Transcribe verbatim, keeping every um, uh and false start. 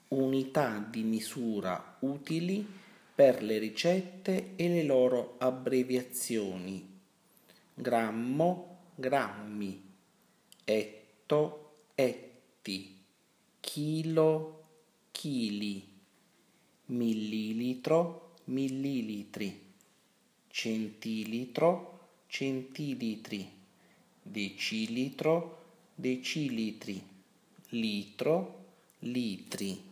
unità di misura utili per le ricette e le loro abbreviazioni: grammo, grammi, etto, etti, chilo, chili, millilitro, millilitri, centilitro, centilitri, decilitro, decilitri, litro, litri.